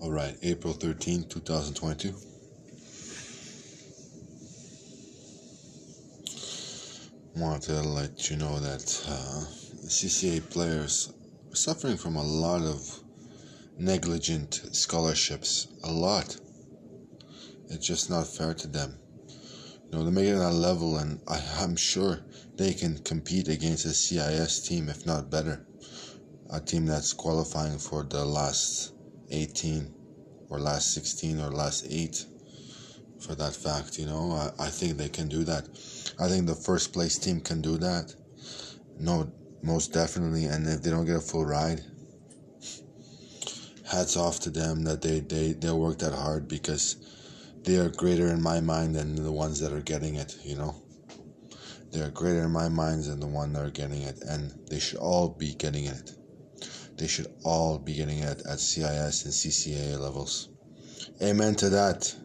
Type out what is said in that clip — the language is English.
Alright, April 13th, 2022. Wanted to let you know that CCA players are suffering from a lot of negligent scholarships. A lot. It's just not fair to them. They're making it at a level, and I'm sure they can compete against a CIS team, if not better. A team that's qualifying for the last 18 or last 16 or last 8 for that fact. I think they can do that. I think the first place team can do that. No, most definitely. And if they don't get a full ride, hats off to them that they work that hard, because they are greater in my mind than the ones that are getting it. They are greater in my mind than the one that are getting it, and they should all be getting it. They should all be getting it at CIS and CCA levels. Amen to that.